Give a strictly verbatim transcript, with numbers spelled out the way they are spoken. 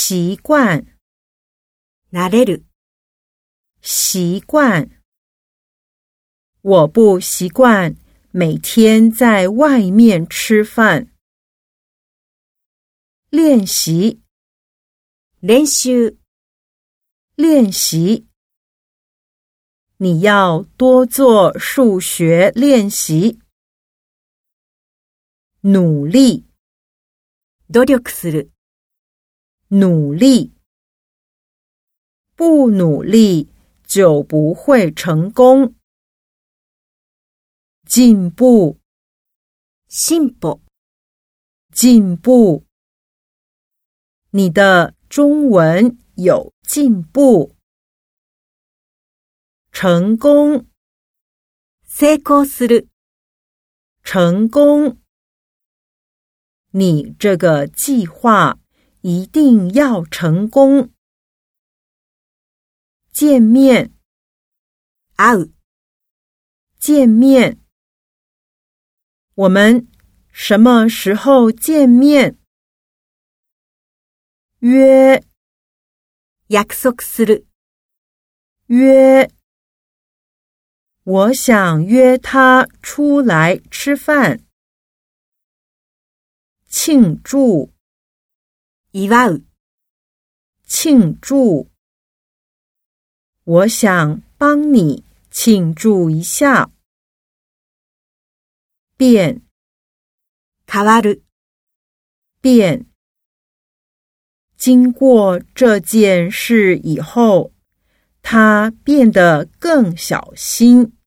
习惯。 慣れる。 习惯。我不习惯每天在外面吃饭。练习。 練習。 练习。你要多做数学练习。努力。 努力する。 努力。不努力就不会成功。进步。 進歩。 进步。你的中文有进步。成功。 成功する。 成功。你这个计划一定要成功。见面。 会う。 见面。我们什么时候见面？约。 約束する。 约。我想约他出来吃饭。庆祝。 祝う。 庆祝。我想帮你庆祝一下。变。 変わる。 变。经过这件事以后，他变得更小心。